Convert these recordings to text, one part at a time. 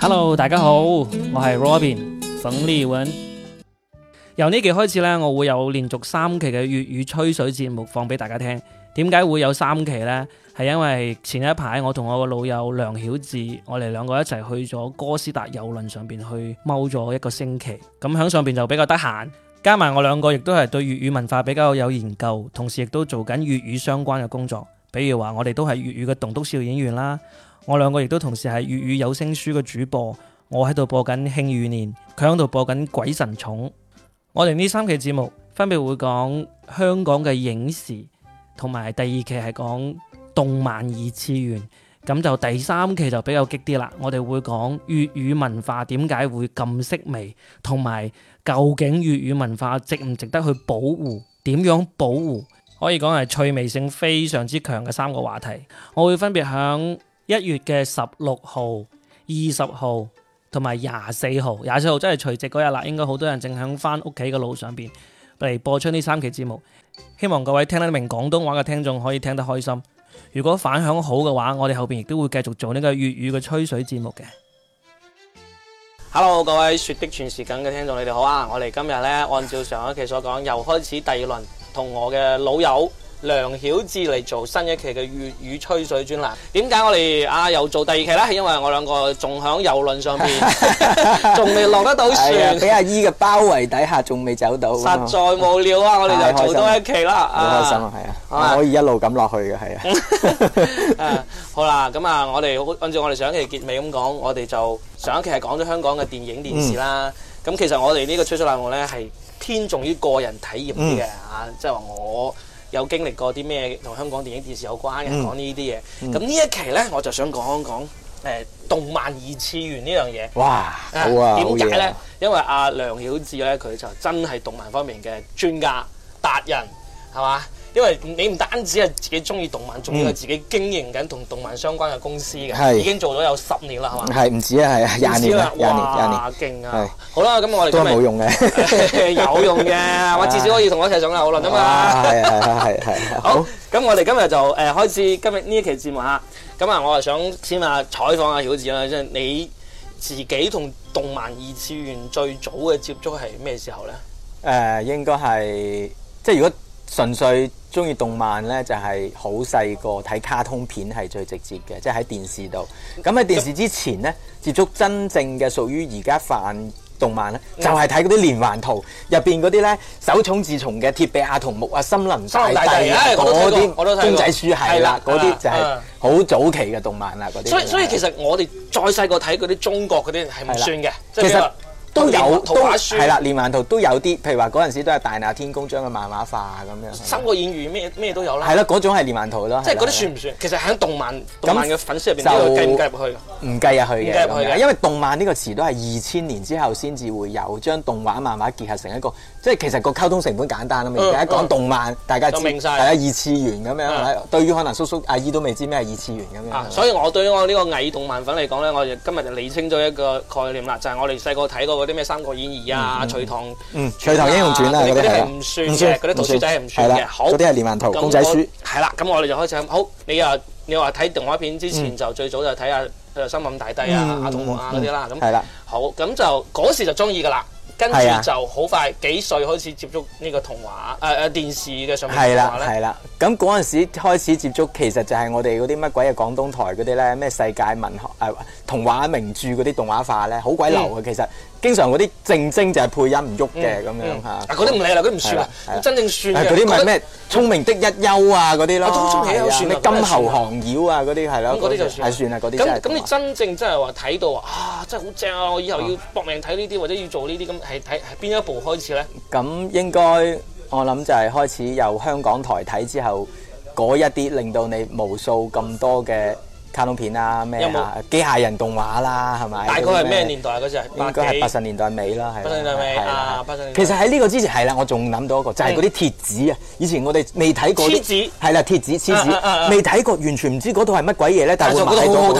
Hello， 大家好，我係 Robin 馮立文。由呢期開始呢，我會有連續3期嘅粵語吹水節目放俾大家聽。點解會有3期呢？係因為前一排我同我個老友梁曉智，我哋兩個一齊去咗哥斯達郵輪上邊去踎咗1個星期。咁喺上邊就比較得閒，加埋我兩個亦都係對粵語文化比較有研究，同時亦都做緊粵語相關嘅工作。比如話我哋都係粵語嘅棟篤笑演員啦。我兩個亦都同時係粵語有聲書嘅主播。我喺度播緊《慶餘年》，佢喺度播緊《鬼神寵》。我哋呢3期節目分別會講香港嘅影視，同埋第2期係講動漫2次元。咁就第3期就比較激啲啦。我哋會講粵語文化點解會咁式微，同埋究竟粵語文化值唔值得去保護？點樣保護？可以講係趣味性非常之強嘅3個話題。我會分別響1月嘅16號、20號同埋24號。24號真係除夕嗰日啦，應該好多人正響翻屋企嘅路上邊嚟播出呢3期節目。希望各位聽得明廣東話嘅聽眾可以聽得開心。如果反響好嘅話，我哋後邊亦都會繼續做呢個粵語嘅吹水節目嘅。Hello， 各位雪的傳時緊嘅聽眾，你哋好啊！我哋今日呢，按照上一期所講，又開始第2輪，同我嘅老友梁曉智嚟做新一期嘅粵語吹水專欄。點解我哋又做第2期呢？係因為我兩個仲響郵輪上邊，仲未落得到船， 俾阿姨嘅包圍底下，仲未走到， 實在無聊啊！我哋就做多一期啦。 好開心啊，係啊，可以一路咁落去嘅，係啊。 好啦，咁啊，我哋按照我哋上一期結尾咁講，我哋就上一期係講咗香港嘅電影電視啦。咁其實我哋呢個吹水欄目呢，係偏重於個人體驗啲嘅即係話我有經歷過啲咩同香港電影電視有關嘅，講呢啲嘢。咁呢一期呢，我就想講動漫2次元呢樣嘢。 哇，好啊！ 點解呢？因為阿梁曉智呢，佢就真係動漫方面嘅專家達人，係嘛？因為你唔單止係自己中意動漫，仲要係自己經營緊同動漫相關嘅公司嘅，已經做咗有10年啦，係嘛？係唔止啊，係啊，20年啦，廿年， 哇，勁啊！好啦，咁我哋都係冇用嘅， 有用嘅，我至少可以同我一齊上遊輪啊嘛。係。好，咁我哋今日就開始今日呢一期節目嚇。咁啊，我係想先採訪阿曉智啦，即係你自己同動漫2次元最早嘅接觸係咩時候咧？ 應該係即係如果純粹中意動漫呢，就係好細個睇卡通片係最直接嘅，即係喺電視度。咁喺電視之前呢，接觸真正嘅屬於而家泛動漫呢，就係睇嗰啲連環圖入邊嗰啲呢，手塚治蟲嘅鐵臂阿童木啊、森林大帝嗰啲公仔書係啦，嗰啲就係好早期嘅動漫啦。嗰啲所以其實我哋再細個睇嗰啲中國嗰啲係唔算嘅， 其實都有圖畫書係啦，連環圖都有啲，譬如話嗰陣時都係大鬧天宮將佢漫畫化咁樣。 三國演義咩都有啦。 係啦，嗰種係連環圖咯。 即係嗰啲算唔算？其實喺動漫嘅粉絲入邊，呢個計唔計入去？ 唔計入去嘅，因為動漫呢個詞都係2000年之後先至會有將動畫漫畫結合成一個，即係其實個溝通成本簡單啊嘛。而家講動漫，大家知係啊2次元咁樣。對於可能叔叔阿姨都未知咩係2次元咁樣。 所以我對於我呢個偽動漫粉嚟講咧，我哋今日就理清咗一個概念啦，就係我哋細個睇過嗰啲咩《三國演義》啊、《隋唐英雄傳》啊嗰啲係唔算嘅，嗰啲圖書仔係唔算嘅。好， 嗰啲係連環圖公仔書。 係啦，咁我哋就開始好。你話睇動畫片之前就最早就睇下森林大帝啊、阿童木啊嗰啲啦。咁係啦， 好，咁就嗰時就中意噶啦。跟住就好快幾歲開始接觸呢個童話電視嘅上面動畫咧？ 係啦，咁嗰陣時開始接觸，其實就係我哋嗰啲乜鬼嘅廣東台嗰啲咧，咩世界文學童話名著嗰啲動畫化咧，好鬼流嘅。其實經常嗰啲正經就係配音唔喐嘅咁樣嚇。 嗰啲唔理啦，嗰啲唔算啦，真正算嘅。 嗰啲咪咩聰明的一休啊嗰啲咯， 聰明一休算咩金猴降妖啊嗰啲係咯， 嗰啲就算係算啦嗰啲。 咁你真正真係話睇到真係好正啊！我以後要搏命睇呢啲或者要做呢啲咁。係邊一部開始咧？ 咁應該我諗就係開始由香港台睇之後，嗰一啲令到你無數咁多嘅卡通片啊，咩啊機械人動畫啦，係咪？ 大概係咩年代嗰陣？ 應該係80年代尾啦，係。 80年代尾啊，80年代。 其實喺呢個之前係啦，我仲諗到一個，就係嗰啲鐵子啊！以前我哋未睇過。 黐子。 係啦，鐵子，未睇過，完全唔知嗰套係乜鬼嘢咧，但係會買到。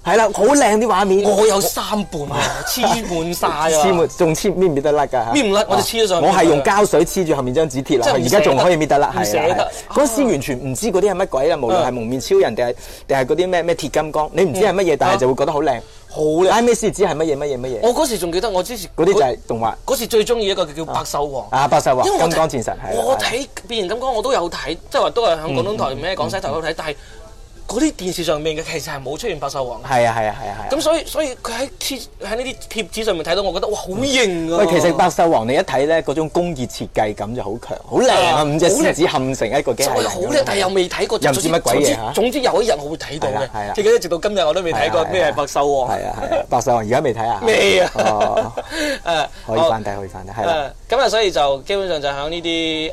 係啦，好靚啲畫面。 我有3本啊，黐滿晒啊！ 黐滿仲搣唔搣得甩㗎？ 搣唔甩，我就黐咗上去。 我係用膠水黐住後面張紙貼落去，而家仲可以搣得甩。 唔捨得。 嗰時完全唔知嗰啲係乜鬼啦，無論係蒙面超人定係嗰啲咩鐵金剛，你唔知係乜嘢，但係就會覺得好靚。 好靚！ 拉尾先知係乜嘢。 我嗰時仲記得，我之前嗰啲就係動畫。 嗰時最中意一個叫百獸王。 百獸王、 因為金剛戰神係。 我睇變形金剛我都有睇，即係話都係喺廣東台咩廣西台都睇，但係嗰啲電視上面嘅其實係冇出現百獸王嘅。 係啊。 咁所以佢喺呢啲貼紙上面睇到，我覺得哇好型啊！ 喂，其實百獸王你一睇咧，嗰種工業設計感就好強，好靚啊！5隻獅子嵌成一個機械人。 好靚，但係又未睇過。 又唔知乜鬼嘢嚇。 總之有一日我會睇到嘅。 係啊。 記得直到今日我都未睇過咩係百獸王。 係啊。百獸王而家未睇啊？ 未啊。 可以翻睇，係啦。 咁啊，所以就基本上就喺呢啲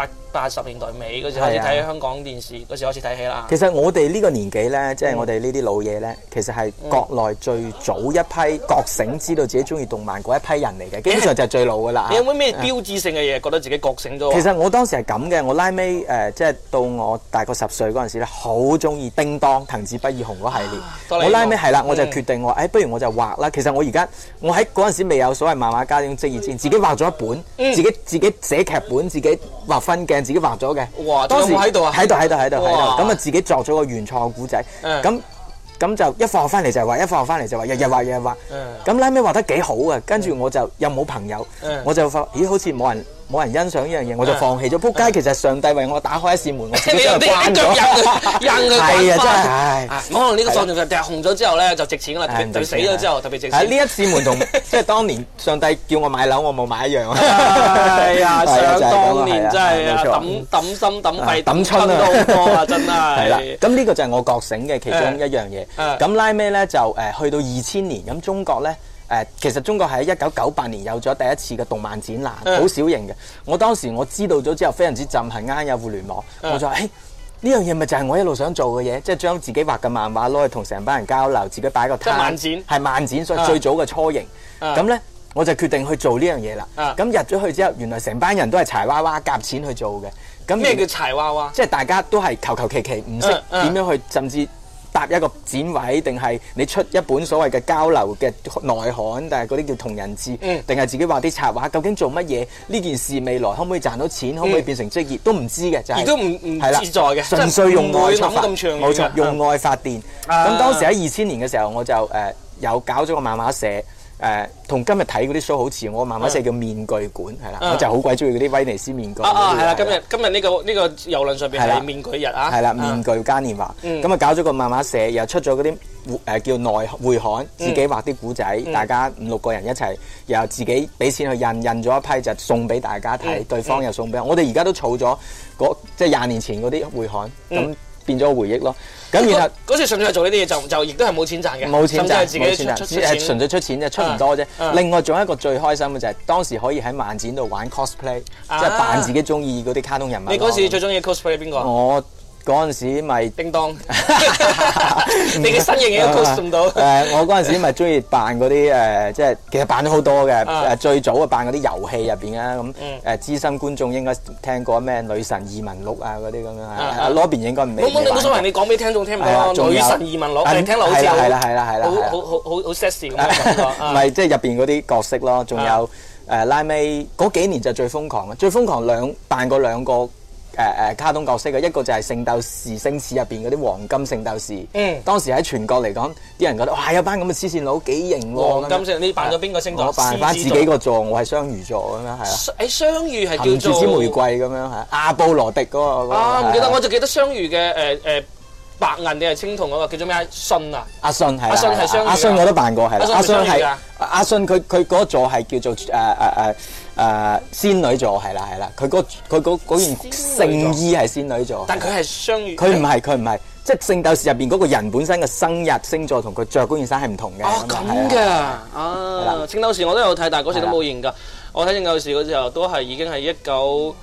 80年代尾嗰時開始睇香港電視，嗰時開始睇戲啦。 其實我哋呢個年紀咧，即係我哋呢啲老嘢咧，其實係國內最早一批覺醒，知道自己中意動漫嗰一批人嚟嘅，基本上就係最老噶啦。 你有冇咩標誌性嘅嘢覺得自己覺醒咗？ 其實我當時係咁嘅，我拉尾即係到我大概10歲嗰陣時咧，好中意叮當、藤子不二雄嗰系列。我拉尾係啦，我就決定我不如我就畫啦。其實我喺嗰陣時未有所謂漫畫家呢種職業之前，自己畫咗一本，自己寫劇本，自己畫分鏡。自己畫咗嘅， 哇！ 當時喺度啊， 喺度，咁啊自己作咗個原創嘅古仔，咁就一放學翻嚟就畫，一放學翻嚟就畫，日日畫，咁拉尾畫得幾好啊！跟住我就又冇朋友，我就發咦好似冇人欣賞呢樣嘢，我就放棄咗。仆街，其實上帝為我打開一扇門，我自己就關咗。 係啊，真係， 可能呢個放就紅咗之後咧就值錢啦，佢死咗之後特別值錢。 呢一扇門同即係當年上帝叫我買樓，我冇買一樣啊！ 係啊，想當年真係啊，抌心抌肺抌春都好多啊，真係。 係啦，咁呢個就係我覺醒嘅其中一樣嘢。咁拉尾咧就去到2000年，咁中國咧。其實中國喺1998年有咗第一次嘅動漫展覽，好小型嘅。我當時我知道咗之後，非常之震撼，啱有互聯網，我就話：呢樣嘢咪就係我一路想做嘅嘢，即係將自己畫嘅漫畫攞去同成班人交流，自己擺個攤。 漫展係漫展，所以最早嘅雛形。咁咧，我就決定去做呢樣嘢啦。咁入咗去之後，原來成班人都係柴娃娃夾錢去做嘅。咁咩叫柴娃娃？ 即係大家都係求其，唔識點樣去，甚至。搭一個展位，定係你出一本所謂嘅交流嘅內刊，但係嗰啲叫同人誌，定係自己畫啲插畫？究竟做乜嘢？呢件事未來可唔可以賺到錢？可唔可以變成職業？都唔知嘅，就係亦都唔自在嘅， 純粹用愛出發， 冇錯，用愛發電。咁當時喺2000年嘅時候，我就有搞咗個漫畫社。同今日睇嗰啲 show 好似，我漫畫社叫面具館，係啦，我就好鬼中意嗰啲威尼斯面具。 係啦，今日呢個郵輪上邊係面具日啊。 係啦，面具嘉年華。咁啊搞咗個漫畫社，又出咗嗰啲叫內會刊，自己畫啲古仔，大家5-6個人一齊，又自己俾錢去印咗一批就送俾大家睇，對方又送俾我。我哋而家都儲咗即係20年前嗰啲會刊，咁變咗回憶咯。咁然後嗰時純粹係做呢啲嘢，就亦都係冇錢賺嘅， 冇錢賺， 自己出錢， 純粹出錢啫，出唔多啫。另外仲有一個最開心嘅就係當時可以喺漫展度玩 cosplay，即係扮自己中意嗰啲卡通人物。 你嗰時最中意 cosplay 邊個？ 我嗰陣時咪叮當，你嘅身形已經 cos 唔到。 我嗰陣時咪中意扮嗰啲即係其實扮咗好多嘅。最早啊扮嗰啲遊戲入邊啊咁資深觀眾應該聽過咩女神異聞錄啊嗰啲咁樣。阿 Robin 應該唔未。 冇所謂，你講俾聽眾聽咪咯。女神異聞錄，你聽落好似係啦， 好 sexy 咁嘅感覺。 唔係即係入邊嗰啲角色咯，仲有拉尾嗰幾年就最瘋狂嘅，最瘋狂扮過兩個。卡通角色嘅一個就係《聖鬥士星矢》入邊嗰啲黃金聖鬥士。當時喺全國嚟講，啲人覺得哇有班咁嘅黐線佬幾型喎。 黃金聖，你扮咗邊個星座？ 我扮翻自己個座，我係雙魚座咁樣係啊。 雙魚係叫做含住支玫瑰咁樣係。阿布羅迪嗰個。 唔記得，我就記得雙魚嘅白銀定係青銅嗰個叫做咩？信啊！ 阿信係。 阿信係雙魚。 阿信我都扮過係啦。 阿信係阿信佢嗰個座係叫做仙女座係啦，佢嗰件聖衣係仙女座。 但佢係雙魚。 佢唔係，即係聖鬥士入邊嗰個人本身嘅生日星座同佢着嗰件衫係唔同嘅。 哦咁嘅，聖鬥士我都有睇，但係嗰時都冇認㗎。我睇聖鬥士嗰時候都係已經係1992。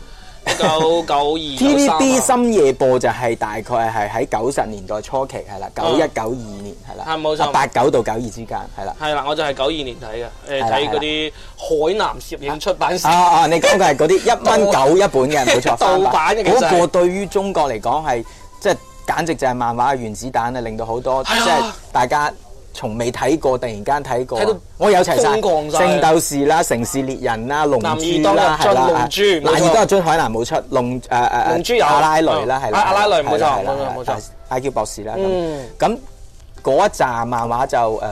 TVB 深夜播就係大概係喺90年代初期係啦，91、92年係啦， 係冇錯 89到92之間係啦。 係啦，我就係92年睇嘅，睇嗰啲海南攝影出版社。 你講嘅係嗰啲1蚊9一本嘅，冇錯。 盜版嘅其實嗰個對於中國嚟講係即係簡直就係漫畫嘅原子彈啊，令到好多即係大家從未睇過，突然間睇過睇到， 我有齊晒瘋狂晒聖鬥士啦、城市獵人啦、龍男珠兒當入樽啦，係啦， 龍珠冇錯男兒當入樽海南冇出，龍珠有阿拉蕾啦，係啦， 阿拉蕾冇錯係啦係啦冇錯冇錯 ，IQ 博士啦嗯咁嗰一紮漫畫就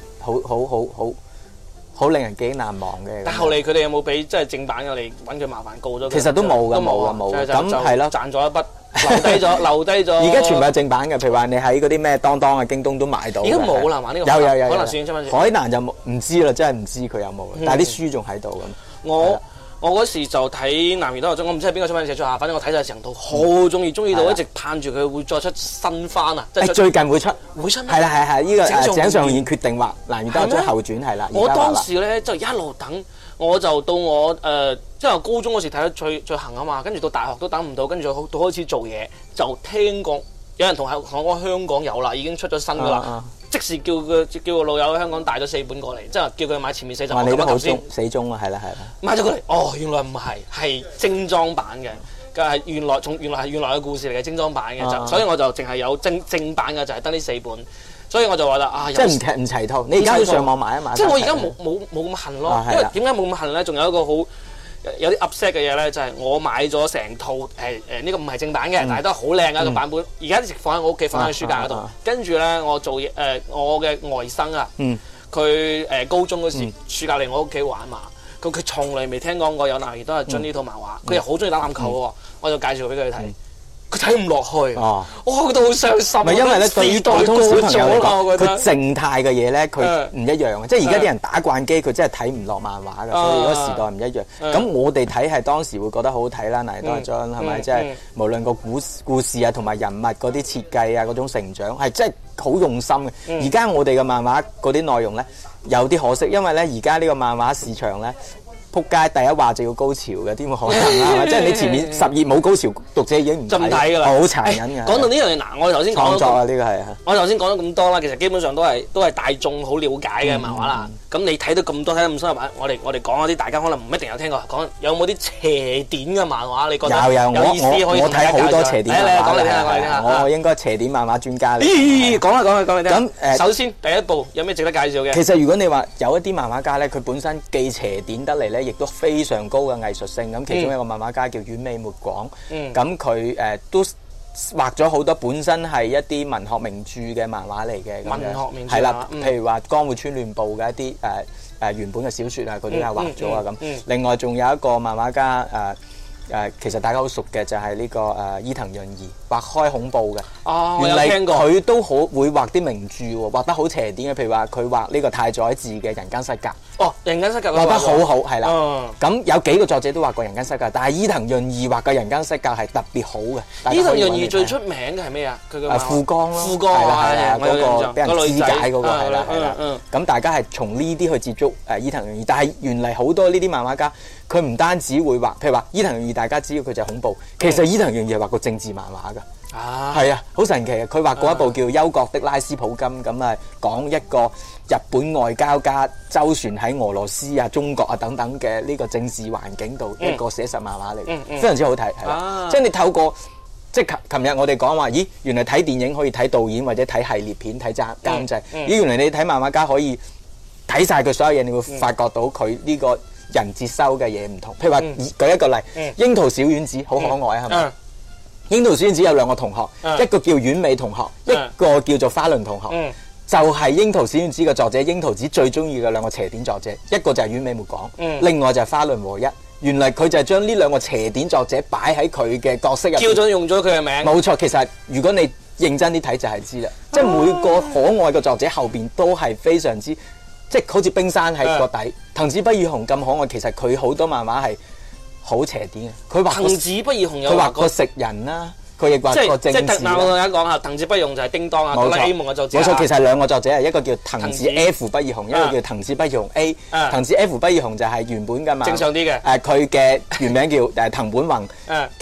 好令人記憶難忘嘅。 但後嚟佢哋有冇俾即係正版嘅你揾佢麻煩告咗佢？ 其實都冇㗎都冇啊冇㗎就咁係咯賺咗一筆，留低咗。 而家全部係正版嘅，譬如話你喺嗰啲咩當當啊、京東都買到嘅。 而家冇啦嘛呢個有可能算出翻海南就冇唔知啦，真係唔知佢有冇，但係啲書仲喺度咁。 我嗰時就睇《男兒當入樽》，我唔知係邊個出版社出下，反正我睇晒成套，好中意到一直盼住佢會再出新番啊！即係最近會出咩？ 係啦，呢個井上賢決定畫《男兒當入樽》後傳係啦。 我當時咧就一路等，我就到我即係我高中嗰時睇得最行啊嘛，跟住到大學都等唔到，跟住到開始做嘢就聽講有人同我講香港有啦，已經出咗新噶啦。即時叫個老友喺香港帶咗4本過嚟，即係叫佢買前面4集。 你都好死忠啊，係啦。 買咗過嚟，原來唔係精裝版嘅，原來嘅故事嚟嘅精裝版嘅，所以我就淨係有正版嘅，就係得呢4本，所以我就話啦即係唔齊套。你而家要上網買一買。 即係我而家冇咁恨咯，因為點解冇咁恨咧？仲有一個好有啲 upset 嘅嘢咧，就係我買咗成套呢個唔係正版嘅，但係都係好靚嘅一個版本。而家一直放喺我屋企，放喺書架嗰度。跟住咧，我做嘢我嘅外甥啊，佢高中嗰時暑假嚟我屋企玩嘛，佢從來未聽講過有男兒當入樽呢套漫畫，佢又好中意打籃球喎，我就介紹俾佢睇。佢睇唔落去，我覺得好傷心。 唔係因為咧，對於普通小朋友嚟講，佢靜靜態嘅嘢咧，佢唔一樣嘅。即係而家啲人打慣機，佢真係睇唔落漫畫㗎，所以嗰個時代唔一樣。咁我哋睇係當時會覺得好好睇啦，男兒當入樽係咪？即係無論個故事啊，同埋人物嗰啲設計啊，嗰種成長係真係好用心嘅。而家我哋嘅漫畫嗰啲內容咧，有啲可惜，因為咧而家呢個漫畫市場咧。撲街第一話就要高潮嘅，點會可能啊？即係你前面10頁冇高潮，讀者已經唔睇㗎啦， 好殘忍嘅。 講到呢樣嘢嗱，我哋頭先講創作啊，呢個係我頭先講咗咁多啦，其實基本上都係大眾好了解嘅漫畫啦。咁你睇到咁多，睇得咁深入，我哋講嗰啲大家可能唔一定有聽過，講有冇啲邪典嘅漫畫？你覺得有意思可以我睇好多邪典漫畫。 講嚟聽下， 我應該邪典漫畫專家嚟。 講嚟聽。 咁首先第一部有咩值得介紹嘅？ 其實如果你話有一啲漫畫家咧，佢本身既邪典得嚟咧，亦都非常高嘅藝術性。咁其中一個漫畫家叫丸尾末廣，咁佢都畫咗好多本身係一啲文學名著嘅漫畫嚟嘅。 文學名著係啦，譬如話《江戶川亂步》嘅一啲原本嘅小説啊，佢都係畫咗啊咁。另外仲有一個漫畫家其實大家好熟嘅就係呢個伊藤潤二，畫開恐怖嘅。原嚟佢都好會畫啲名著喎，畫得好邪典嘅。譬如話佢畫呢個太宰治嘅《人間失格》。 人間失格畫得好好，係啦。咁有幾個作者都畫過《人間失格》，但係伊藤潤二畫嘅《人間失格》係特別好嘅。 伊藤潤二最出名嘅係咩啊？佢嘅富江咯， 富江係啦，嗰個俾人肢解嗰個係啦。咁大家係從呢啲去接觸伊藤潤二，但係原嚟好多呢啲漫畫家，佢唔單止會畫，譬如話伊藤潤二，大家知道佢就係恐怖，其實伊藤潤二係畫過政治漫畫㗎。係啊，好神奇啊！佢畫過一部叫《幽國的拉斯普金》，咁啊講一個日本外交家周旋喺俄羅斯啊、中國啊等等嘅呢個政治環境度一個寫實漫畫嚟，非常之好睇，係啦。即係你透過即係琴日我哋講話，咦，原來睇電影可以睇導演或者睇系列片、睇監製，咦，原來你睇漫畫家可以睇晒佢所有嘢，你會發覺到佢呢個人接收嘅嘢唔同。譬如話舉一個例，櫻桃小丸子好可愛啊，係咪？櫻桃小丸子有2個同學，一個叫丸美同學，一個叫做花輪同學，就係櫻桃小丸子嘅作者櫻桃子最中意嘅2個邪典作者，一個就係丸美末廣，另外就係花輪和一。原來佢就係將呢2個邪典作者擺喺佢嘅角色入邊， 叫咗用咗佢嘅名。 冇錯，其實如果你認真啲睇就係知啦，即係每個可愛嘅作者後邊都係非常之，即係好似冰山喺個底。藤子不二雄咁可愛，其實佢好多漫畫係好邪典嘅。佢畫藤子不二雄有佢畫過食人啦，佢亦畫過政治。 我同大家講下，藤子不二雄就係叮當啊，哆啦 A 夢嘅作者。 冇錯，其實係2個作者，一個叫藤子 F 不二雄，一個叫藤子不二雄 A。藤子 F 不二雄就係原本嘅嘛， 正常啲嘅。 佢嘅原名叫藤本弘。其實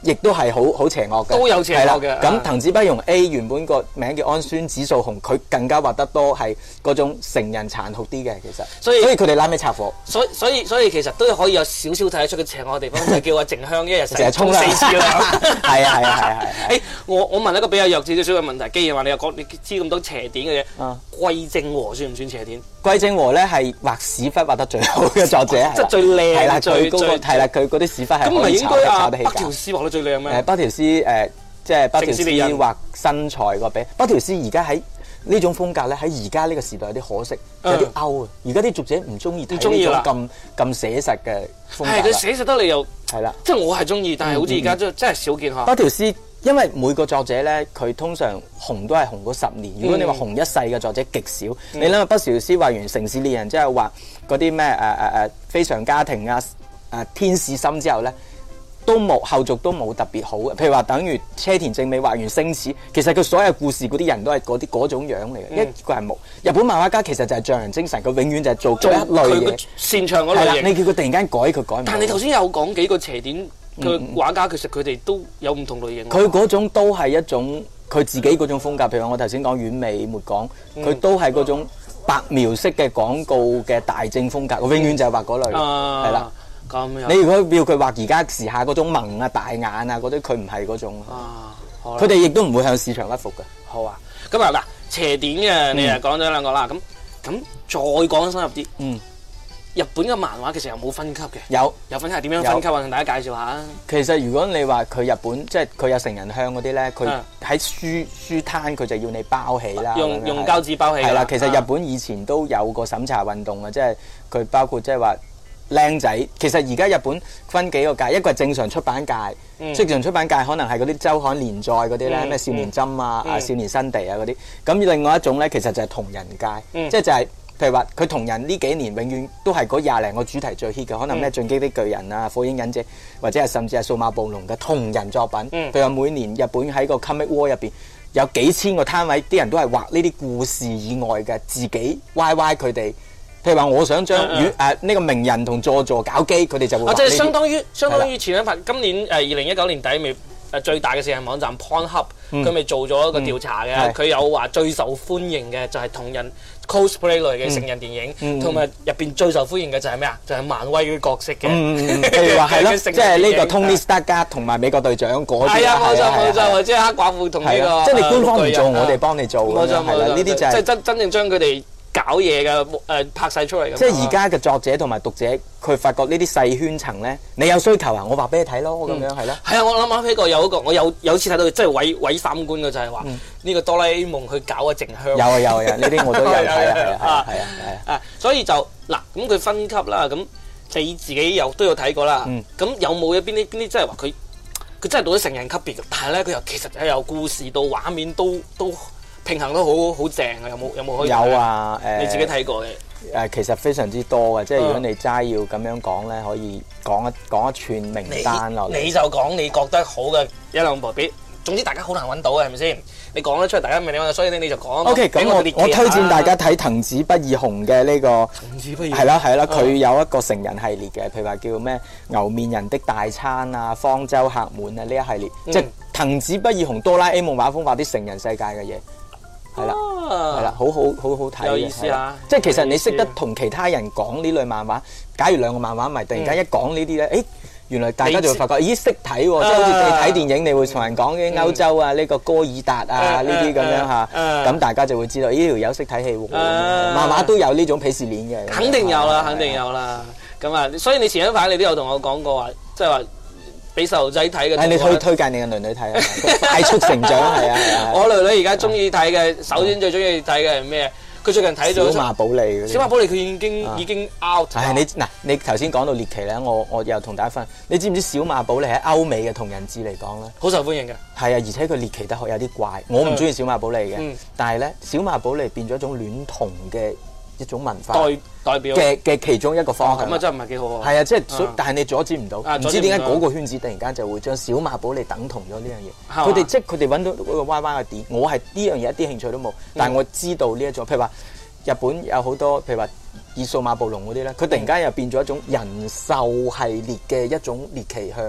亦都係好邪惡嘅， 都有邪惡嘅。 咁藤子不二雄 A 原本個名叫安孫子素雄，佢更加畫得多係嗰種成人殘酷啲嘅，其實。所以佢哋拉尾拆夥。 所以其實都可以有少少睇得出佢邪惡嘅地方，就係叫阿靜香一日成日沖4次涼。 係。 誒，我問一個比較弱智少少嘅問題，既然話你又講你知咁多邪典嘅嘢，桂正和算唔算邪典？ 桂正和咧係畫屎忽畫得最好嘅作者， 即係最靚， 係啦，最高個係啦，佢嗰啲屎忽係可以炒得起價。 北條司畫得最靚咩？ 北條司即係北條司畫身材個比，北條司而家喺呢種風格咧，喺而家呢個時代有啲可惜，有啲 out 啊！而家啲讀者唔中意睇呢種咁寫實嘅風格。係佢寫實得你又係啦， 即係我係中意，但係好似而家真係少見嚇。 北條司因為每個作者咧，佢通常紅都係紅嗰10年。如果你話紅一世嘅作者極少，你諗下北條司畫完《城市獵人》之後畫嗰啲咩非常家庭啊天使心之後咧，都冇後續都冇特別好嘅。譬如話等於車田正美畫完《星矢》，其實佢所有故事嗰啲人都係嗰種樣嚟嘅，一個係冇。日本漫畫家其實就係匠人精神，佢永遠就係做一類嘢， 擅長嗰類型。 你叫佢突然間改，佢改唔到。 但係你頭先有講幾個邪典嘅畫家，其實佢哋都有唔同類型。 佢嗰種都係一種佢自己嗰種風格。譬如我頭先講丸尾末廣，佢都係嗰種白描式嘅廣告嘅大正風格，佢永遠就係畫嗰類，係啦。咁樣。你如果要佢畫而家時下嗰種萌啊、大眼啊嗰啲，佢唔係嗰種。佢哋亦都唔會向市場屈服嘅。 好啊。咁啊嗱，邪典嘅你又講咗兩個啦，咁再講深入啲。日本嘅漫畫其實有冇分級嘅？有分級，點樣分級啊？同大家介紹下。 其實如果你話佢日本即係佢有成人向嗰啲咧，佢喺書攤佢就要你包起啦， 用膠紙包起。 係啦，其實日本以前都有個審查運動嘅，即係佢包括即係話靚仔。其實而家日本分幾個界，一個係正常出版界，正常出版界可能係嗰啲週刊連載嗰啲咧，咩少年針啊、少年新地啊嗰啲。咁另外一種咧，其實就係同人界，即係就係。譬如話，佢同人呢幾年永遠都係嗰20零個主題最 hit 嘅，可能咩進擊的巨人啊、火影忍者，或者係甚至係數碼暴龍嘅同人作品。譬如話每年日本喺個 Comic War 入邊有幾千個攤位，啲人都係畫呢啲故事以外嘅自己 YY 佢哋。譬如話，我想將呢個鳴人同佐助搞基，佢哋就會畫呢啲。 即係相當於前一排今年2019年底未最大嘅視頻網站 Pornhub，佢咪做咗一個調查嘅，佢有話最受歡迎嘅就係同人 cosplay 類嘅成人電影，同埋入邊最受歡迎嘅就係咩啊？就係漫威嘅角色嘅， 譬如話係咯，即係呢個 Tony Stark 同埋美國隊長嗰啲。係啊， 冇錯，即係黑寡婦同呢個。 即係你官方唔做，我哋幫你做。冇錯，係啦，呢啲就係即係真正將佢哋搞嘢嘅拍晒出嚟。 即係而家嘅作者同埋讀者，佢發覺呢啲細圈層咧，你有需求啊，我畫俾你睇咯，咁樣係咯。 係啊，我諗起過有一個，我有次睇到真係毀三觀嘅就係話呢個哆啦 A 夢去搞個靜香。 有啊，呢啲我都有睇啊。 所以就嗱，咁佢分級啦，咁你自己都有睇過啦。咁有冇邊啲即係話佢真係到咗成人級別嘅，但係咧佢又其實由故事到畫面都平衡都好正啊！有冇可以？ 有啊， 你自己睇過嘅。 其實非常之多嘅，即係如果你齋要咁樣講咧，可以講一串名單落嚟。 你就講你覺得好嘅一兩部，總之大家好難揾到嘅係咪先？你講得出嚟，大家明你揾，所以你就講。 OK， 咁我推薦大家睇藤子不二雄嘅呢個。 藤子不二雄。 係啦，佢有一個成人系列嘅，譬如話叫咩牛面人的大餐啊、方舟客滿啊呢一系列，即係藤子不二雄哆啦 A 夢畫風畫啲成人世界嘅嘢。係啦，好睇嘅。 有意思啊！ 即係其實你識得同其他人講呢類漫畫，假如兩個漫畫迷突然間一講呢啲咧，原來大家就會發覺，咦識睇喎！即係好似你睇電影，你會同人講啲歐洲啊、呢個哥爾達啊呢啲咁樣嚇，咁大家就會知道呢條友識睇戲喎。漫畫都有呢種鄙視鏈嘅。 肯定有啦，咁啊，所以你前一排你都有同我講過話，即係話。俾細路仔睇嘅， 你可以推介你嘅女睇啊！快速成長係啊！ 我女女而家中意睇嘅，首先最中意睇嘅係咩？佢最近睇咗小馬寶莉嗰啲。小馬寶莉佢已經 out。 你頭先講到獵奇咧，我又同大家分，你知唔知小馬寶莉喺歐美嘅同人誌嚟講咧， 好受歡迎嘅。 係啊，而且佢獵奇得有啲怪，我唔中意小馬寶莉嘅，但係咧小馬寶莉變咗一種戀童嘅一種文化代表嘅其中一個方向。 咁啊真係唔係幾好啊！ 係啊，即係但係你阻止唔到，唔知點解嗰個圈子突然間就會將小馬寶莉等同咗呢樣嘢。佢哋揾到嗰個 Y Y 嘅點，我係呢樣嘢一啲興趣都冇，但係我知道呢一種，譬如話日本有好多，譬如話以數碼暴龍嗰啲咧，佢突然間又變咗一種人獸系列嘅一種獵奇向。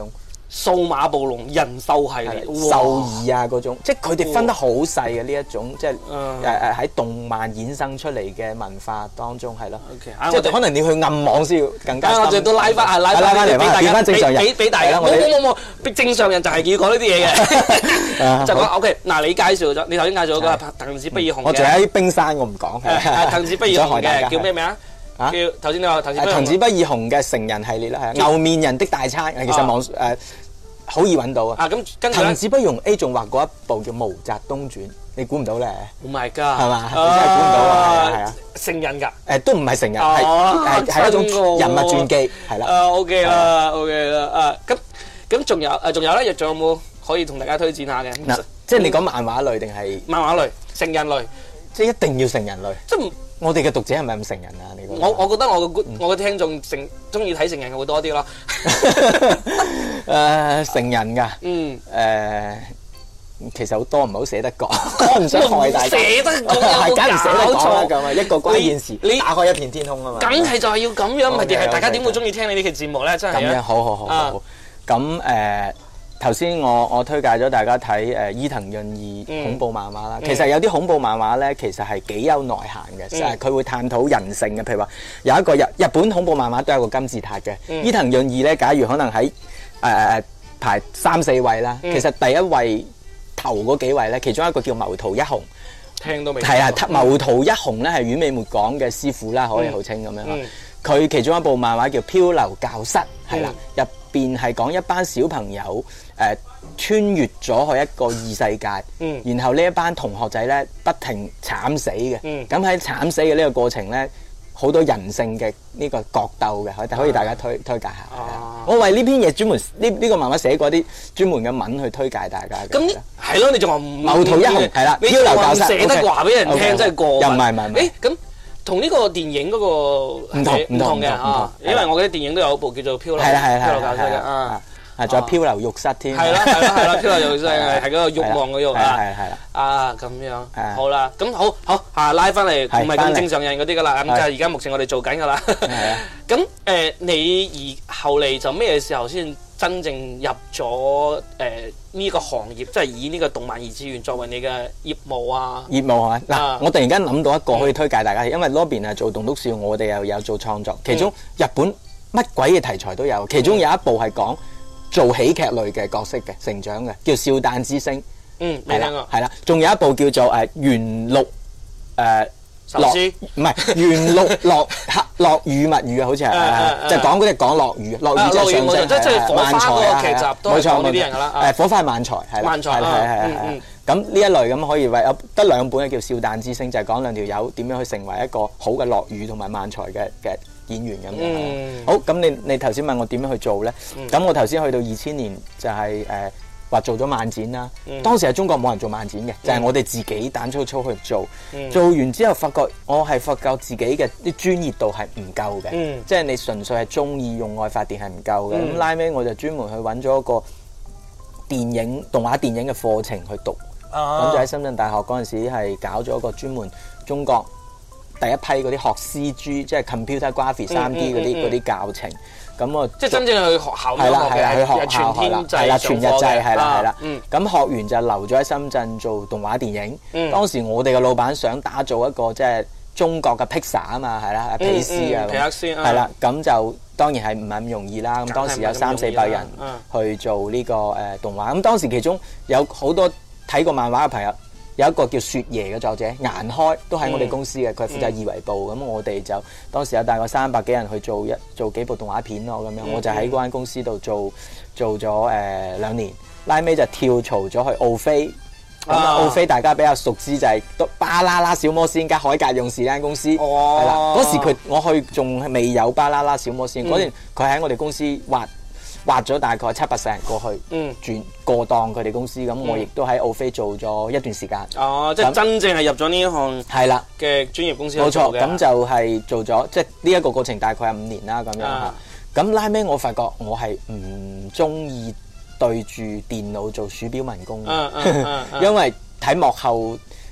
數碼暴龍人獸系列， 獸醫啊嗰種，即係佢哋分得好細嘅呢一種，即係喺動漫衍生出嚟嘅文化當中係咯。即係可能你去暗網先要更加深。 我哋都拉翻嚟， 變翻正常人， 俾大家。冇，正常人就係要講呢啲嘢嘅。就講 OK， 嗱你介紹咗，你頭先介紹嗰個藤子不二雄嘅。 我仲喺冰山，我唔講。 藤子不二雄嘅叫咩名啊？叫頭先你話藤子不二雄嘅成人系列啦，係牛面人的大餐，其實網好易揾到啊！ 咁跟住藤子不二雄 A 仲畫過一部叫《毛澤東傳》，你估唔到咧 ？Oh my god！ 係嘛？你真係估唔到啊！係啊， 成人㗎？ 都唔係成人，係一種人物傳記，係啦。 OK 啦，OK 啦。咁仲有咧？仲有冇可以同大家推薦下嘅？ 嗱，即係你講漫畫類定係漫畫類、成人類？ 即係一定要成人類。 即係我哋嘅讀者係咪咁成人啊？你覺得？ 我覺得我嘅聽眾中意睇成人嘅會多啲咯。 成人㗎。其實好多唔好捨得講，我唔想害大家。 捨得講係梗唔捨得講啦， 錯咁啊一個關鍵詞，你打開一片天空啊嘛。 梗係就係要咁樣，唔係大家點會中意聽你呢期節目咧？真係咁樣，好。咁頭先我推介咗大家睇伊藤潤二恐怖漫畫啦。其實有啲恐怖漫畫咧，其實係幾有內涵嘅，就係佢會探討人性嘅。譬如話有一個日本恐怖漫畫都有個金字塔嘅。伊藤潤二咧，假如可能喺排3、4位啦，其實第一位頭嗰幾位咧，其中一個叫楳圖一雄， 聽都未係啊，楳圖一雄咧係丸尾末廣嘅師傅啦，可以號稱咁樣啦。佢其中一部漫畫叫《漂流教室》，係啦，入邊係講一班小朋友穿越咗去一個異世界，然後呢一班同學仔咧不停慘死嘅，咁喺慘死嘅呢個過程咧，好多人性嘅呢個角鬥嘅，可以大家推介下。我為呢篇嘢專門呢個漫畫寫過啲專門嘅文去推介大家嘅。 咁係咯，你仲話楳圖一雄係啦， 你又話唔捨得話俾人聽，真係過分。 又唔係。 咁同呢個電影嗰個唔同嘅啊，因為我記得電影都有一部叫做《漂流教室》嘅啊。 仲有漂流浴室添。 係啦，漂流浴室係嗰個慾望嘅慾啊。係咁樣。好啦，咁好拉翻嚟，唔係咁正常人嗰啲噶啦。咁就係而家目前我哋做緊噶啦。咁你後嚟就咩時候先真正入咗呢個行業，即係以呢個動漫二次元作為你嘅業務啊？業務係嘛？嗱，我突然間諗到一個可以推介大家，因為 Robin 係做棟篤笑，我哋又有做創作，其中日本乜鬼嘅題材都有，其中有一部係講做喜劇類嘅角色嘅成長嘅，叫《笑彈之星》。 未聽過。 係啦，仲有一部叫做元祿唔係元祿落雨物語啊，好似係，就講嗰啲講落雨，落雨即係上升， 即係火花嗰個劇集都係講呢啲人㗎啦。 火花係漫才係啦，係。咁呢一類咁可以為有得2本嘅叫《笑彈之星》，就係講2條友點樣去成為一個好嘅落雨同埋漫才嘅演員咁樣。好，咁你頭先問我點樣去做咧？咁我頭先去到2000年就係話做咗漫展啦。當時係中國冇人做漫展嘅，就係我哋自己膽粗粗去做。做完之後發覺自己嘅啲專業度係唔夠嘅，即係你純粹係中意用愛發電係唔夠嘅。咁拉尾我就專門去揾咗一個動畫電影嘅課程去讀。咁就喺深圳大學嗰陣時係搞咗一個專門中國第一批嗰啲學 CG，即係 computer graphic 3D 嗰啲教程。咁我即係真正去學校係啦，去學校係啦，全日制係啦。咁學完就留咗喺深圳做動畫電影。當時我哋嘅老闆想打造一個即係中國嘅 Pixar 啊嘛，係啦，皮斯啊，係啦。咁就當然係唔係咁容易啦。咁當時有300-400人去做呢個動畫。咁當時其中有好多睇過漫畫嘅朋友，有一個叫雪爺嘅作者顏開，都喺我哋公司嘅，佢負責二維部。咁我哋就當時有大概300幾人去做幾部動畫片咯，咁樣我就喺嗰間公司度做咗2年，拉尾就跳槽咗去奧飛。咁奧飛大家比較熟知就係巴啦啦小魔仙加海格勇士呢間公司，係啦。嗰時我去仲未有巴啦啦小魔仙，嗰陣佢喺我哋公司挖咗大概700-800人過去，轉過檔佢哋公司，咁我亦都喺奧飛做咗一段時間。即係真正係入咗呢一行係啦嘅專業公司。冇錯，咁就係做咗，即係呢一個過程大概係5年啦，咁樣嚇。咁拉尾我發覺我係唔中意對住電腦做鼠標民工，因為睇幕後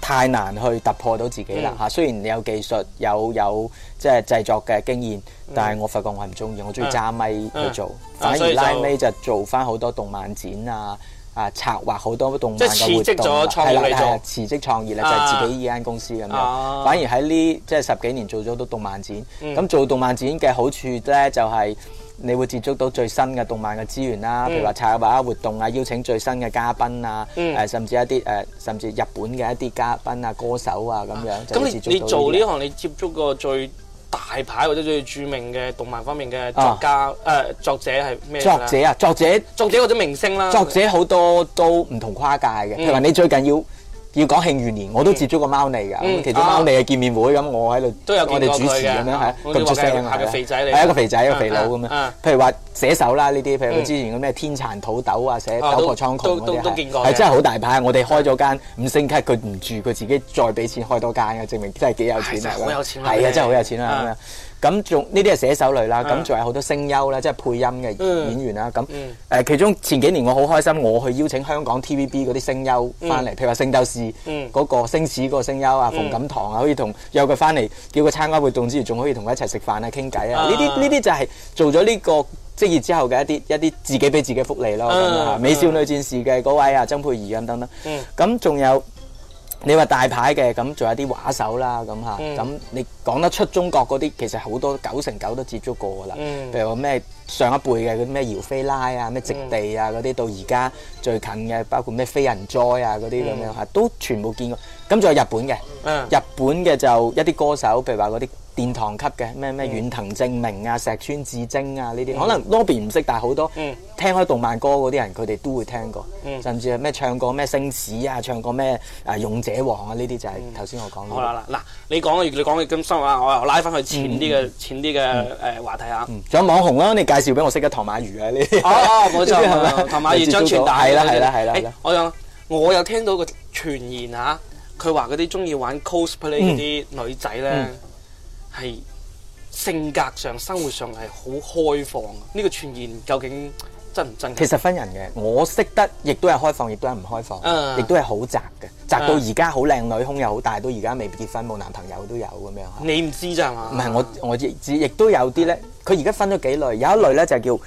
太難去突破到自己啦嚇。雖然你有技術，有即係製作嘅經驗，但係我發覺我係唔中意，我中意揸咪去做，反而拉尾就做翻好多動漫展策劃好多動漫嘅活動，係啦，辭職創業咧就係自己依間公司咁樣。反而喺呢即係10幾年做咗好多動漫展，咁做動漫展嘅好處咧就係你會接觸到最新嘅動漫嘅資源啦，譬如話策劃活動啊，邀請最新嘅嘉賓啊，甚至一啲甚至日本嘅一啲嘉賓啊、歌手啊咁樣。 咁你做呢行，你接觸過最大牌或者最著名嘅動漫方面嘅作家作者係咩？作者或者明星啦。作者好多都唔同跨界嘅，譬如話你最近要講慶餘年，我都接觸過貓膩㗎。咁其中貓膩嘅見面會，咁我喺度都有我哋主持咁樣係咁出聲啊，係個肥仔嚟，係一個肥仔一個肥佬咁樣。譬如話寫手啦呢啲，譬如佢之前嘅咩天殘土豆啊，寫斗破蒼穹嗰啲係真係好大牌。我哋開咗間5星級，佢唔住，佢自己再俾錢開多間嘅，證明真係幾有錢啊！好有錢啊！係啊，真係好有錢啊咁樣。咁仲呢啲係寫手類啦，咁仲有好多聲優啦，即係配音嘅演員啦。咁其中前幾年我好開心，我去邀請香港 TVB 嗰啲聲優翻嚟，譬如話《聖鬥士》嗰個星矢嗰個聲優啊，馮錦棠啊，可以約佢翻嚟，叫佢參加活動之餘，仲可以同佢一齊食飯啊、傾偈啊。呢啲就係做咗呢個職業之後嘅一啲自己俾自己福利咯。美少女戰士嘅嗰位曾沛儀咁等等。咁仲有。你話大牌嘅咁，仲有啲畫手啦咁嚇，咁你講得出中國嗰啲，其實好多9成9都接觸過噶啦。譬如話咩上一輩嘅嗰啲咩姚菲拉啊、咩直地啊嗰啲，到而家最近嘅包括咩非人哉啊嗰啲咁樣嚇，都全部見過。咁仲有日本嘅，日本嘅就一啲歌手，譬如話嗰啲殿堂級嘅咩遠藤正明啊、石川智晶啊呢啲，可能 Lobby 唔識，但係好多聽開動漫歌嗰啲人，佢哋都會聽過，甚至係咩唱過咩星矢啊，唱過咩勇者王啊呢啲就係頭先我講嘅。好啦嗱，你講嘅咁深啊，我又拉翻去淺啲嘅話題啊。仲有網紅啦，你介紹俾我識嘅唐馬如啊呢啲。冇錯，唐馬如張全大係啦。我有聽到個傳言嚇。佢話嗰啲中意玩 cosplay 嗰啲女仔咧，係性格上、生活上係好開放。呢個傳言究竟真唔真？其實分人嘅，我識得亦都係開放，亦都係唔開放，亦都係好宅嘅，宅到而家好靚女，胸又好大，到而家未結婚冇男朋友都有咁樣。你唔知咋嘛？唔係我亦知，亦都有啲咧。佢而家分咗幾類，有一類咧就叫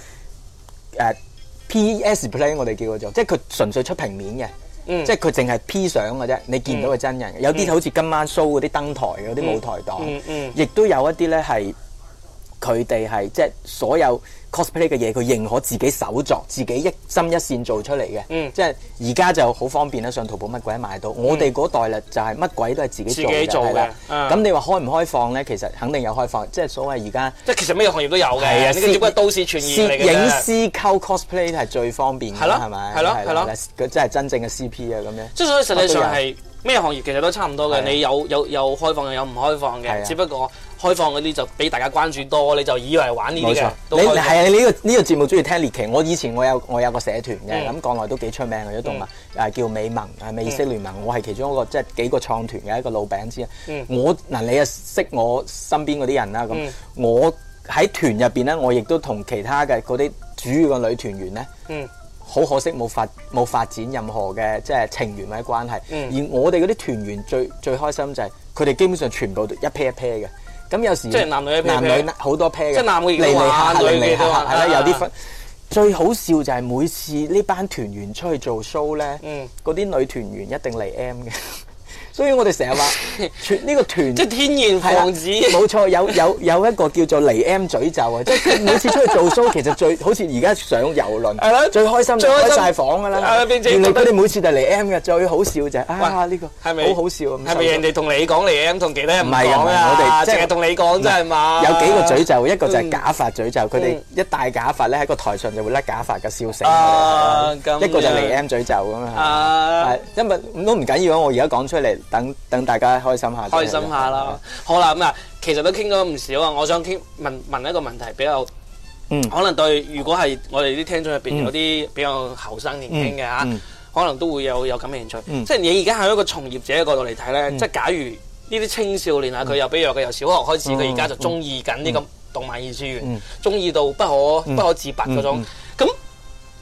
PS play， 我哋叫佢做，即係佢純粹出平面嘅。即係佢淨係 P 相嘅啫，你見到佢真人嘅。有啲好似今晚 show 嗰啲登台嗰啲舞台檔，亦都有一啲咧係佢哋係即係所有 cosplay 嘅嘢，佢認可自己手作，自己一針一線做出嚟嘅。即係而家就好方便啦，上淘寶乜鬼買到。我哋嗰代咧就係乜鬼都係自己做嘅。咁你話開唔開放咧？其實肯定有開放，即係所謂而家即係其實咩行業都有嘅。係啊，呢個只不過都市傳言嚟嘅。攝影師溝 cosplay 係最方便嘅，係咪？係咯。佢真係真正嘅 CP 啊咁樣。即係所以實際上係咩行業其實都差唔多嘅。你有開放嘅，有唔開放嘅，只不過。開放嗰啲就俾大家關注多，你就以為玩呢啲嘅。你係啊，你呢個節目中意聽獵奇。我以前我有個社團嘅，咁國內都幾出名嘅啲動物，叫美盟，美式聯盟。我係其中一個即係幾個創團嘅一個老餅之一。你又識我身邊嗰啲人啦。咁我喺團入邊咧，我亦都同其他嘅嗰啲主要嘅女團員咧，好可惜冇發展任何嘅即係情緣或者關係。而我哋嗰啲團員最開心就係佢哋基本上全部都一 pair 一 pair 嘅。咁有時即係男女一 pair，男女好多 pair 嘅，即係男嘅嚟下，女嘅都係啦，有啲分。最好笑就係每次呢班團員出去做 show 咧，嗰啲女團員一定嚟 M 嘅。所以我哋成日話呢個團即係天然防止，冇錯，有一個叫做嚟 M 詛咒啊！即係佢每次出去做 show，其實最好似而家上遊輪，係啦，最開心就開曬房㗎啦。原來佢哋每次就嚟 M 嘅，最好笑就係呢個係咪好好笑？係咪人哋同你講嚟 M， 同其他人唔講啊？我哋即係同你講真係嘛？有幾個詛咒，一個就係假髮詛咒，佢哋一戴假髮咧喺個台上就會甩假髮嘅笑死。一個就嚟 M 詛咒咁啊！因為都唔緊要啊，我而家講出嚟。等大家開心下啦。好啦，咁啊，其實都傾咗唔少啊。我想問一個問題，比較可能對，如果係我哋啲聽眾入邊有啲比較後生年輕嘅嚇，可能都會有咁嘅興趣。即係你而家喺一個從業者嘅角度嚟睇咧，即係假如呢啲青少年啊，佢又比如佢由小學開始，佢而家就中意緊呢個動漫二次元，中意到不可自拔嗰種。咁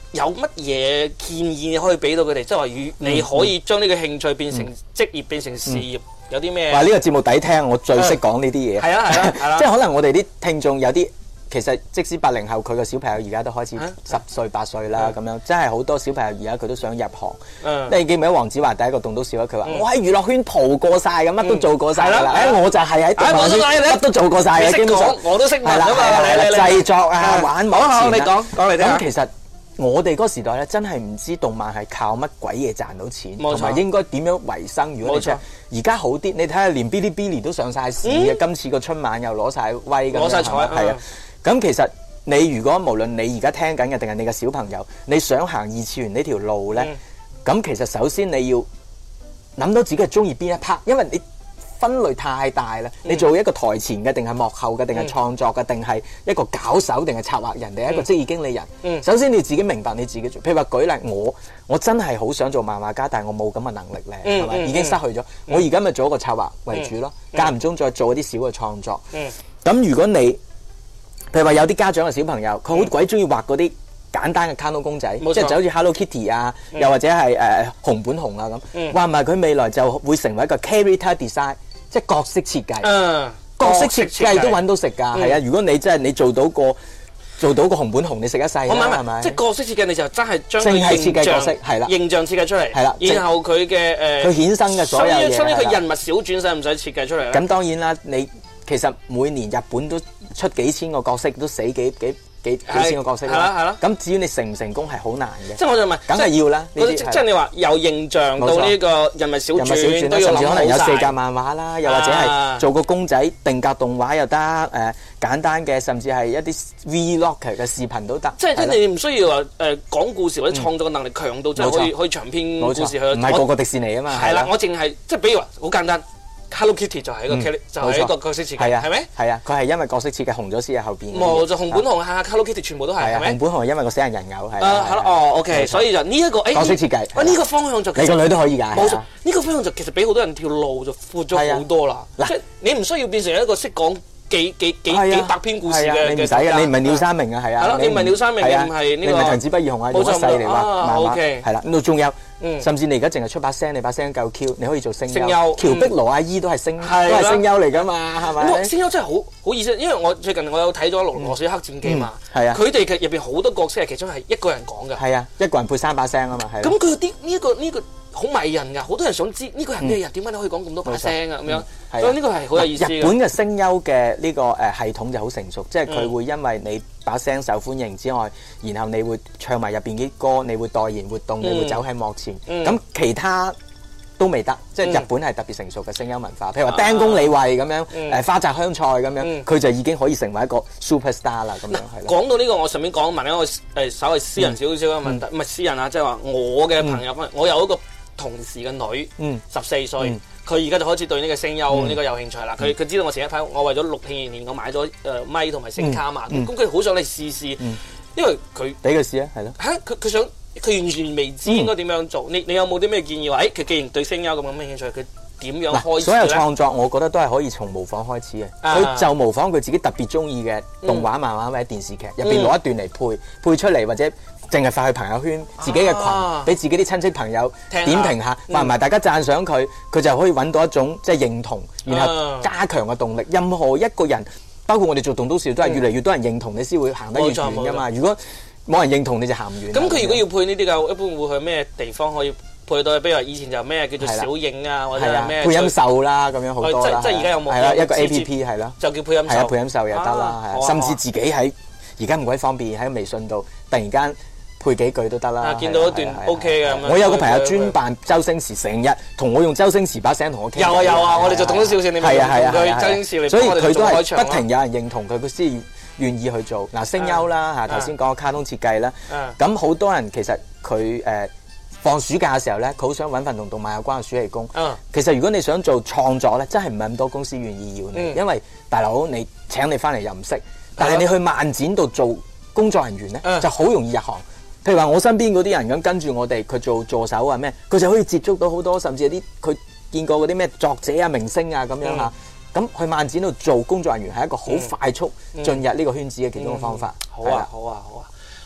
有乜嘢建議可以俾到佢哋？即係話，你可以將呢個興趣變成職業，變成事業，有啲咩？ 話呢個節目抵聽，我最識講呢啲嘢。 係啊係啊， 即係可能我哋啲聽眾有啲。其實即使80後佢個小朋友而家都開始10歲8歲啦咁樣，真係好多小朋友而家佢都想入行。你記唔記得黃子華第一個棟篤笑佢話：我喺娛樂圈蒲過晒嘅，乜都做過晒㗎啦。我就係喺動畫圈乜都做過晒嘅，基本上我都識問㗎嘛。製作啊，玩幕前你講嚟聽。 咁其實我哋嗰個時代咧，真係唔知動漫係靠乜鬼嘢賺到錢，同埋應該點樣維生。如果你真係而家好啲，你睇下連 Bilibili 都上晒市嘅，今次個春晚又攞晒威咁樣， 攞晒彩係啊。咁其實你如果無論你而家聽緊嘅定係你嘅小朋友，你想行二次元呢條路咧，咁其實首先你要諗到自己係中意邊一 part，因為你分類太大啦。你做一個台前嘅，定係幕後嘅，定係創作嘅，定係一個搞手，定係策劃人，定係一個職業經理人。首先你自己明白你自己做。譬如話舉例，我真係好想做漫畫家，但係我冇咁嘅能力咧，係咪？已經失去咗。我而家咪做一個策劃為主咯，間唔中再做一啲小嘅創作。咁如果你譬如話有啲家長嘅小朋友，佢好鬼中意畫嗰啲簡單嘅卡通公仔，即係就好似 Hello Kitty 啊，又或者係熊本熊啊咁。話唔埋佢未來就會成為一個 character design， 即係角色設計。角色設計都揾到食㗎，係啊！如果你真係你做到個熊本熊，你食一世啦，係咪？ 即係角色設計，你就真係將淨係設計角色，係啦， 形象設計出嚟， 係啦。 然後佢嘅佢衍生嘅所有嘢， 所以佢人物小傳使唔使設計出嚟咧？ 咁當然啦，你其實每年日本都出幾千個角色，都死幾千個角色啦。係啦。咁至於你成唔成功係好難嘅。 即係我就問， 梗係要啦。 即係你話由形象到呢個人物小傳都要諗好晒。甚至可能有4格漫畫啦，又或者係做個公仔定格動畫又得，簡單嘅，甚至係一啲 vlog 嘅視頻都得。即係你唔需要話講故事或者創作嘅能力強到，即係可以長篇故事去。 唔係個迪士尼啊嘛。 係啦，我淨係即係比如話好簡單。Hello Kitty 就係一個角色設計，係咪？ 係啊，佢係因為角色設計紅咗先喺後邊。 冇就熊本熊啊 Hello Kitty 全部都係，係咪？ 熊本熊係因為個死人人偶係。 係咯，OK，所以就呢一個角色設計。 呢個方向就你個女都可以㗎。 冇錯，呢個方向就其實俾好多人條路就闊咗好多啦。即係你唔需要變成一個識講幾百篇故事嘅。 你唔使嘅，你唔係鳥山明啊，係啊。 係咯，你唔係鳥山明，你唔係呢個。 你唔係藤子不二雄啊，用一世嚟畫漫畫。係啦，咁到仲有。甚至你而家淨係出把聲，你把聲夠 Q， 你可以做聲優。喬碧羅阿姨都係聲優嚟㗎嘛，係咪？ 聲優真係好意思，因為我最近我有睇咗《羅水黑戰記》嘛， 係啊， 佢哋嘅入邊好多角色係其中係一個人講嘅。 係啊，一個人配3把聲啊嘛，係。 咁佢啲呢個好迷人㗎，好多人想知呢個人咩人，點解你可以講咁多把聲啊咁樣？所以呢個係好有意思。 日本嘅聲優嘅呢個系統就好成熟，即係佢會因為你把聲受歡迎之外，然後你會唱埋入邊啲歌，你會代言活動，你會走喺幕前。咁其他都未得，即係日本係特別成熟嘅聲優文化。譬如話釘宮理惠咁樣，花澤香菜咁樣，佢就已經可以成為一個 superstar 啦。咁樣係。講到呢個，我順便問一個稍微私人少少嘅問題，唔係私人啊，即係話我嘅朋友，我有一個同事嘅女，14歲。佢而家就開始對呢個聲優呢個有興趣啦。佢知道我前一排我為咗錄片而年，我買咗咪同埋聲卡嘛。咁佢好想嚟試試，因為佢俾佢試啊，係咯。 佢想佢完全未知應該點樣做。你有冇啲咩建議話？佢既然對聲優咁有興趣，佢點樣開始？ 所有創作我覺得都係可以從模仿開始嘅。佢就模仿佢自己特別中意嘅動畫、漫畫或者電視劇入邊攞一段嚟配出嚟，或者淨係發去朋友圈自己嘅群，俾自己啲親戚朋友點評下，話唔埋大家讚賞佢，佢就可以揾到一種即係認同，然後加強嘅動力。任何一個人，包括我哋做棟篤笑，都係越嚟越多人認同你先會行得越遠㗎嘛。如果冇人認同你就行唔遠。 咁佢如果要配呢啲嘅，一般會去咩地方可以配到？比如話以前就咩叫做小影啊，或者係咩配音秀啦，咁樣好多啦。 即係而家有冇？ 係啦，一個 APP 係咯， 就叫配音秀。 係啊，配音秀又得啦，係甚至自己喺而家唔鬼方便喺微信度突然間配幾句都得啦。 見到一段 OK 嘅咁樣。 我有個朋友專扮周星馳，成日同我用周星馳把聲同我傾。 有啊，我哋就棟篤笑線，你咪用佢周星馳嚟。 所以佢都係不停有人認同佢，佢先願意去做。嗱，聲優啦嚇，頭先講卡通設計啦，咁好多人其實佢放暑假嘅時候咧，佢好想揾份同動漫有關嘅暑期工。其實如果你想做創作咧，真係唔係咁多公司願意要你，因為大佬你請你翻嚟又唔識，但係你去漫展度做工作人員咧，就好容易入行。譬如話我身邊嗰啲人咁跟住我哋，佢做助手啊咩，佢就可以接觸到好多，甚至有啲佢見過嗰啲咩作者啊、明星啊咁樣嚇。咁去漫展度做工作人員係一個好快速進入呢個圈子嘅其中嘅方法。 好啊！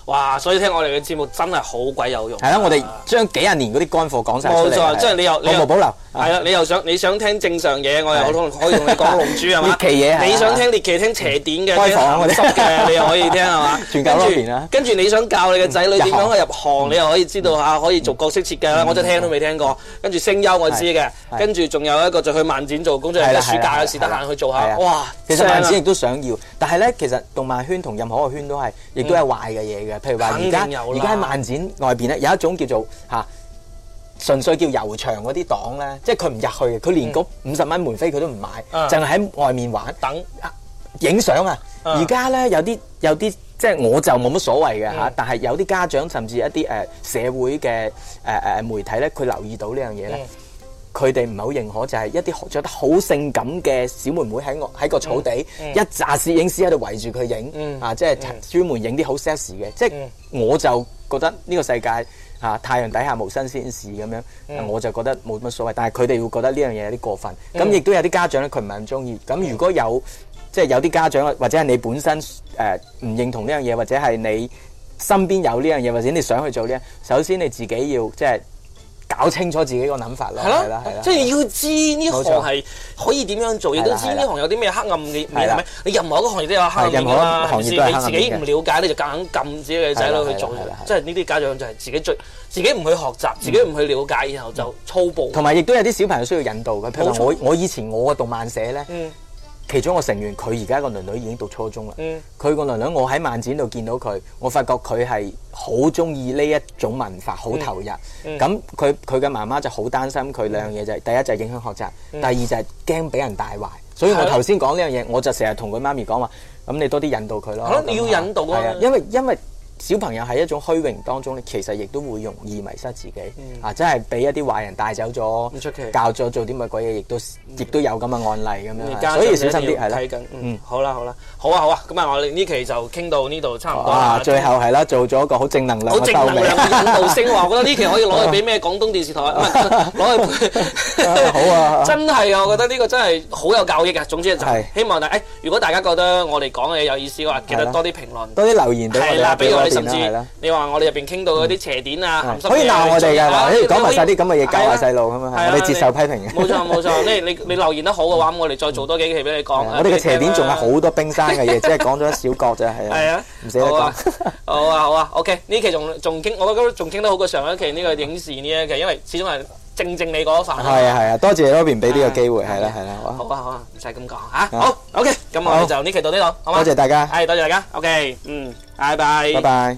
哇！所以聽我哋嘅節目真係好鬼有用。 係啦，我哋將幾廿年嗰啲乾貨講晒出嚟。 冇錯，即係你又毫無保留。 係啦，你想聽正常嘢，我又可以同你講龍珠係嘛？ 獵奇嘢， 你想聽獵奇聽邪典嘅、 開房鹹濕嘅，你又可以聽係嘛？ 全教嗰邊啦。 跟住你想教你嘅仔女點樣去入行，你又可以知道下，可以做角色設計啦。我真係聽都未聽過。跟住聲優我知嘅，跟住仲有一個就去漫展做工作人員，暑假嘅時得閒去做下。哇！ 其實漫展亦都想要，但係咧，其實動漫圈同任何一個圈都係，亦都係壞嘅嘢嘅。譬如話而家喺漫展外邊咧，有一種叫做純粹叫遊場嗰啲檔咧，即係佢唔入去嘅，佢連嗰50蚊門飛佢都唔買，淨係喺外面玩等影相啊！而家咧有啲即係我就冇乜所謂嘅但係有啲家長甚至一啲社會嘅媒體咧，佢留意到呢樣嘢咧。佢哋唔係好認可，就係一啲着得好性感嘅小妹妹喺個草地，一紮攝影師喺度圍住佢影，即係專門影啲好 sexy 嘅。即係我就覺得呢個世界太陽底下無新鮮事咁樣，我就覺得冇乜所謂。但係佢哋會覺得呢樣嘢有啲過分。咁亦都有啲家長咧，佢唔係咁中意。咁如果有即係有啲家長或者係你本身唔認同呢樣嘢，或者係你身邊有呢樣嘢，或者你想去做呢，首先你自己要即係搞清楚自己個諗法咯，係啦， 即係要知呢行係可以點樣做，亦都知呢行有啲咩黑暗面，係咪？你任何一個行業都有黑暗面㗎嘛，係咪先？你自己唔了解，你就夾硬撳自己嘅仔女去做，即係呢啲家長就係自己唔去學習，自己唔去了解，然後就粗暴。同埋亦都有啲小朋友需要引導嘅，譬如我以前我個動漫社咧。其中一個成員，佢而家個囡囡已經讀初中啦。佢個囡囡，我喺漫展度見到佢，我發覺佢係好中意呢一種文化，好投入。咁佢嘅媽媽就好擔心佢兩樣嘢，就係第一就係影響學習，第二就係驚俾人帶壞。所以我頭先講呢樣嘢，我就成日同佢媽咪講話，咁你多啲引導佢咯。 你要引導啊， 因為小朋友喺一種虛榮當中咧，其實亦都會容易迷失自己，真係俾一啲壞人帶走咗， 唔出奇， 教咗做啲乜鬼嘢，亦都有咁嘅案例咁樣，所以小心啲係啦。 好啦，好啊，咁啊，我哋呢期就傾到呢度差唔多啦。 最後係啦，做咗一個好正能量嘅收尾， 好正能量嘅引導性話，我覺得呢期可以攞去俾咩廣東電視台，攞去好啊！ 真係啊，我覺得呢個真係好有教益嘅。總之就係希望如果大家覺得我哋講嘅嘢有意思嘅話，記得多啲評論， 多啲留言俾我哋， 俾我哋。甚至你話我哋入邊傾到嗰啲邪典啊， 可以鬧我哋㗎，話講埋晒啲咁嘅嘢教下細路咁啊，我哋接受批評嘅。 冇錯，你留言得好嘅話，咁我哋再做多幾期俾你講。 我哋嘅邪典仲有好多冰山嘅嘢，只係講咗一小角啫，係啊，唔捨得講。 好啊 ，OK，呢期仲傾，我覺得仲傾得好過上一期呢個影視呢一期，因為始終係正你嗰一範。 係啊，多謝嗰邊俾呢個機會，係啦， 好啊，唔使咁講嚇。好 ，OK，咁我哋就呢期到呢度，好嘛？ 多謝大家， 多謝大家，OK，拜拜， 拜拜。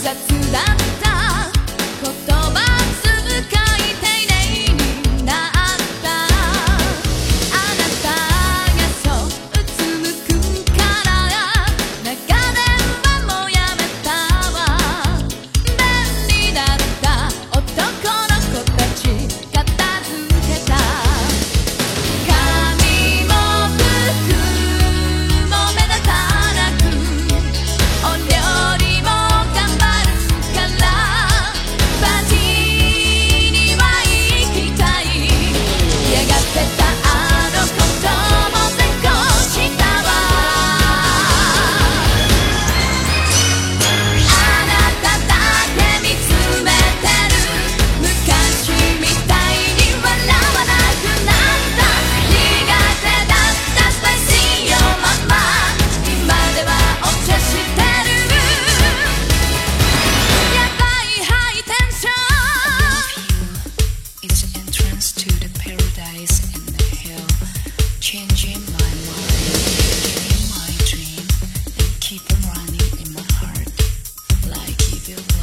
Keep on running in my heart like evil.